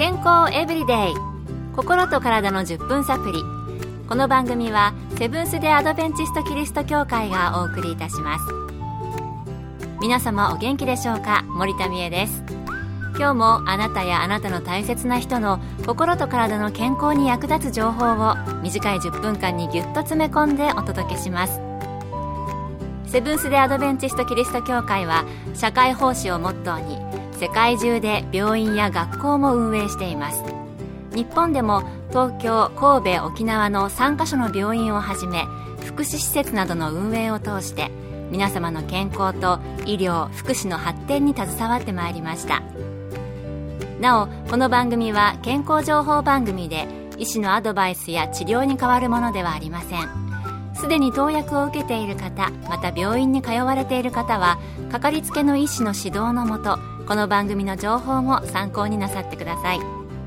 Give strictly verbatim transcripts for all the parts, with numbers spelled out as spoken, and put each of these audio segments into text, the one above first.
健康エブリデイ、心と体のじゅっぷんサプリ。この番組はセブンス・デ・アドベンチスト・キリスト教会がお送りいたします。皆様お元気でしょうか。森田美恵です。今日もあなたやあなたの大切な人の心と体の健康に役立つ情報を短いじゅっぷんかんにぎゅっと詰め込んでお届けします。セブンス・デ・アドベンチスト・キリスト教会は社会奉仕をモットーに世界中で病院や学校も運営しています。日本でも東京、神戸、沖縄のさんカ所の病院をはじめ福祉施設などの運営を通して皆様の健康と医療・福祉の発展に携わってまいりました。なお、この番組は健康情報番組で医師のアドバイスや治療に代わるものではありません。すでに投薬を受けている方、また病院に通われている方はかかりつけの医師の指導のもと、この番組の情報も参考になさってください。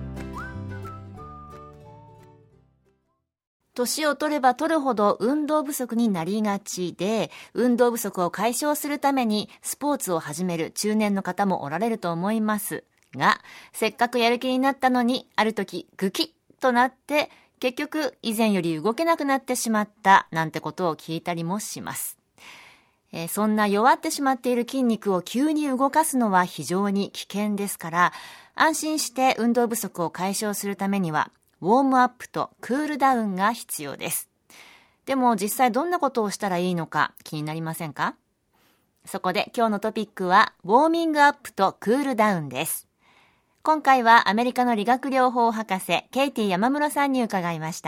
年を取れば取るほど運動不足になりがちで、運動不足を解消するためにスポーツを始める中年の方もおられると思いますが、せっかくやる気になったのにある時グキッとなって結局以前より動けなくなってしまったなんてことを聞いたりもします。えー、そんな弱ってしまっている筋肉を急に動かすのは非常に危険ですから、安心して運動不足を解消するためにはウォームアップとクールダウンが必要です。でも実際どんなことをしたらいいのか気になりませんか？そこで今日のトピックはウォーミングアップとクールダウンです。今回はアメリカの理学療法博士ケイティ山室さんに伺いました。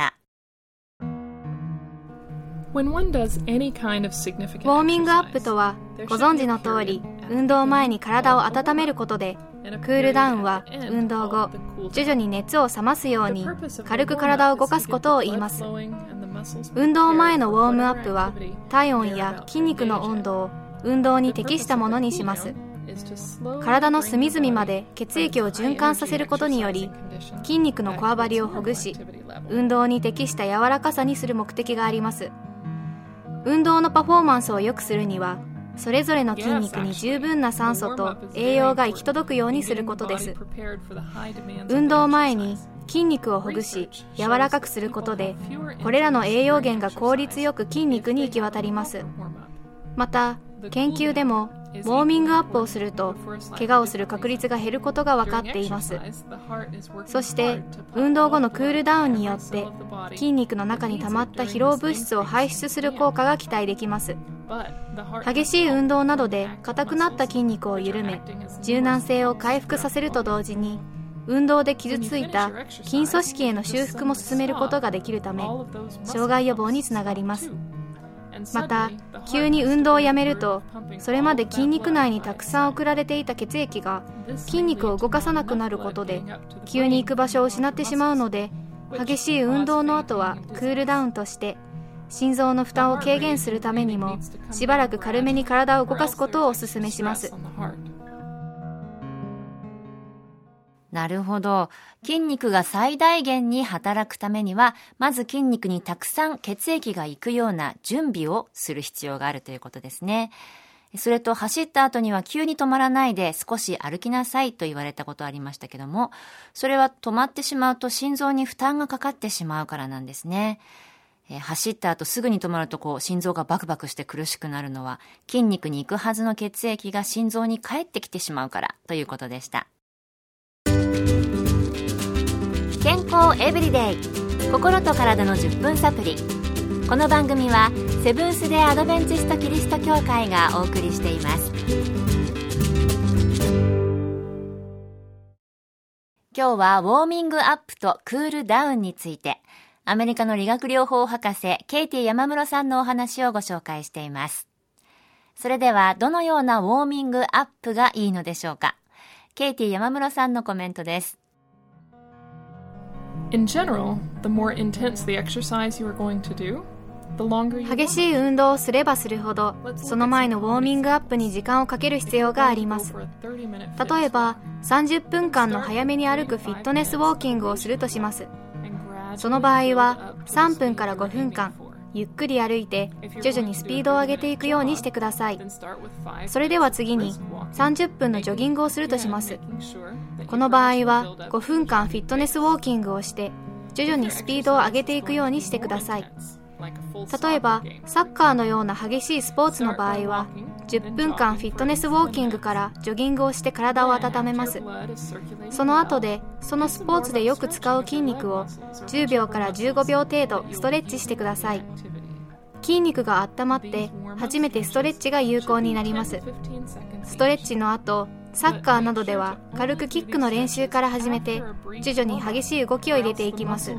ウォーミングアップとは、ご存知の通り運動前に体を温めることで、クールダウンは運動後徐々に熱を冷ますように軽く体を動かすことを言います。運動前のウォームアップは体温や筋肉の温度を運動に適したものにします。体の隅々まで血液を循環させることにより筋肉のこわばりをほぐし、運動に適した柔らかさにする目的があります。運動のパフォーマンスを良くするには、それぞれの筋肉に十分な酸素と栄養が行き届くようにすることです。運動前に筋肉をほぐし柔らかくすることで、これらの栄養源が効率よく筋肉に行き渡ります。また研究でもウォーミングアップをすると怪我をする確率が減ることが分かっています。そして運動後のクールダウンによって筋肉の中に溜まった疲労物質を排出する効果が期待できます。激しい運動などで硬くなった筋肉を緩め、柔軟性を回復させると同時に、運動で傷ついた筋組織への修復も進めることができるため、障害予防につながります。また急に運動をやめると、それまで筋肉内にたくさん送られていた血液が筋肉を動かさなくなることで急に行く場所を失ってしまうので、激しい運動の後はクールダウンとして心臓の負担を軽減するためにもしばらく軽めに体を動かすことをお勧めします。 なるほど。筋肉が最大限に働くためには、まず筋肉にたくさん血液が行くような準備をする必要があるということですね。それと走った後には急に止まらないで少し歩きなさいと言われたことありましたけども、それは止まってしまうと心臓に負担がかかってしまうからなんですね。え走った後すぐに止まるとこう心臓がバクバクして苦しくなるのは、筋肉に行くはずの血液が心臓に帰ってきてしまうからということでした。健康エブリデイ、心と体のじゅっぷんサプリ。この番組はセブンス・デ・アドベンチスト・キリスト教会がお送りしています。今日はウォーミングアップとクールダウンについて、アメリカの理学療法博士ケイティ山室さんのお話をご紹介しています。それではどのようなウォーミングアップがいいのでしょうか。ケイティ山室さんのコメントです。 In general, the more intense the exercise you are going to do, the longer you want. 激しい運動をすればするほど、その前のウォーミングアップに時間をかける必要があります。例えば、さんじゅっぷんかんの早めに歩くフィットネスウォーキングをするとします。その場合は、さんぷんからごふんかん、ゆっくり歩いて徐々にスピードを上げていくようにしてください。それでは次にさんじゅっぷんのジョギングをするとします。 この場合はごふんかんフィットネスウォーキングをして徐々にスピードを上げていくようにしてください。例えばサッカーのような激しいスポーツの場合はじゅっぷんかんフィットネスウォーキングからジョギングをして体を温めます。その後でそのスポーツでよく使う筋肉をじゅうびょうからじゅうごびょう程度ストレッチしてください。筋肉が温まって初めてストレッチが有効になります。ストレッチの後、サッカーなどでは軽くキックの練習から始めて徐々に激しい動きを入れていきます。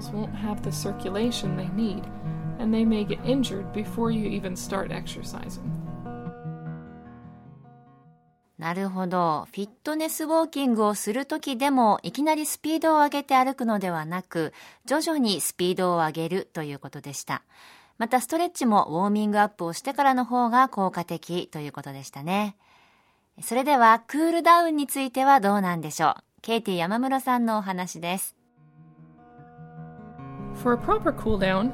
And they may get injured before you even start exercising. なるほど。フィットネスウォーキングをするときでもいきなりスピードを上げて歩くのではなく、徐々にスピードを上げるということでした。またストレッチもウォーミングアップをしてからの方が効果的ということでしたね。それではクールダウンについてはどうなんでしょう。ケイティ山室さんのお話です。 For a proper cool down,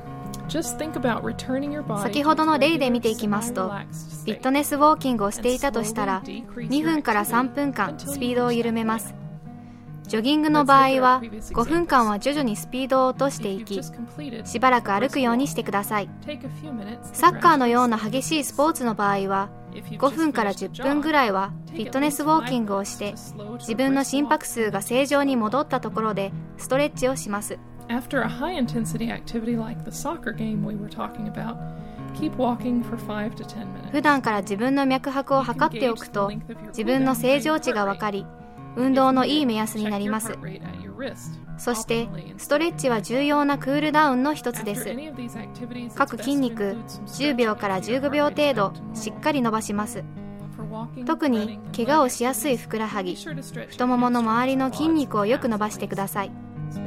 先ほどの例で見ていきますと、フィットネスウォーキングをしていたとしたらにふんからさんぷんかんスピードを緩めます。ジョギングの場合はごふんかんは徐々にスピードを落としていき、しばらく歩くようにしてください。サッカーのような激しいスポーツの場合はごふんからじゅっぷんぐらいはフィットネスウォーキングをして自分の心拍数が正常に戻ったところでストレッチをします。 After a high-intensity activity like the soccer game we were talking about, keep walking for five to ten minutes. 普段から自分の脈拍を測っておくと、自分の正常値がわかり、運動のいい目安になります。そして、ストレッチは重要なクールダウンの一つです。各筋肉じゅうびょうからじゅうごびょう程度しっかり伸ばします。特に怪我をしやすいふくらはぎ、太ももの周りの筋肉をよく伸ばしてください。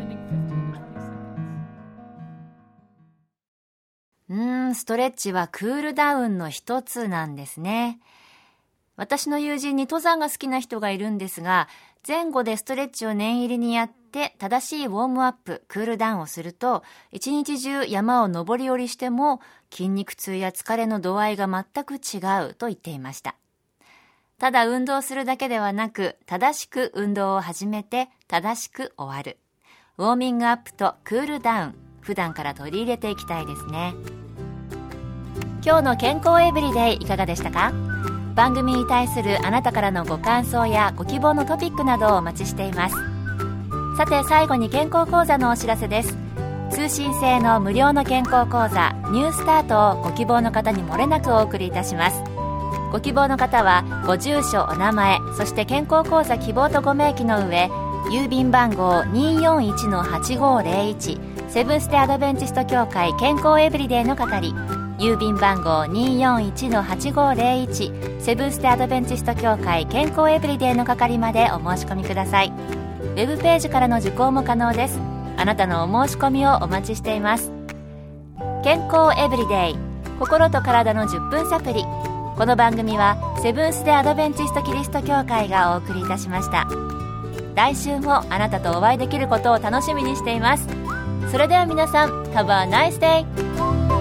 うーん、ストレッチはクールダウンの一つなんですね。私の友人に登山が好きな人がいるんですが、前後でストレッチを念入りにやって正しいウォームアップ、クールダウンをすると、一日中山を登り降りしても筋肉痛や疲れの度合いが全く違うと言っていました。ただ運動するだけではなく、正しく運動を始めて正しく終わる。ウォーミングアップとクールダウン、普段から取り入れていきたいですね。今日の健康エブリデイいかがでしたか？番組に対するあなたからのご感想やご希望のトピックなどをお待ちしています。さて最後に健康講座のお知らせです。通信制の無料の健康講座ニュースタートをご希望の方に漏れなくお送りいたします。ご希望の方はご住所、お名前、そして健康講座希望とご明記の上、郵便番号 にーよんいちのはちごーぜろいち セブンステアドベンチスト協会健康エブリデイの係、郵便番号 にーよんいちのはちごーぜろいち セブンステアドベンチスト協会健康エブリデイの係までお申し込みください。ウェブページからの受講も可能です。あなたのお申し込みをお待ちしています。健康エブリデイ、心と体のじゅっぷんサプリ。この番組はセブンス・デ・アドベンチスト・キリスト教会がお送りいたしました。来週もあなたとお会いできることを楽しみにしています。それでは皆さん、Have a nice day!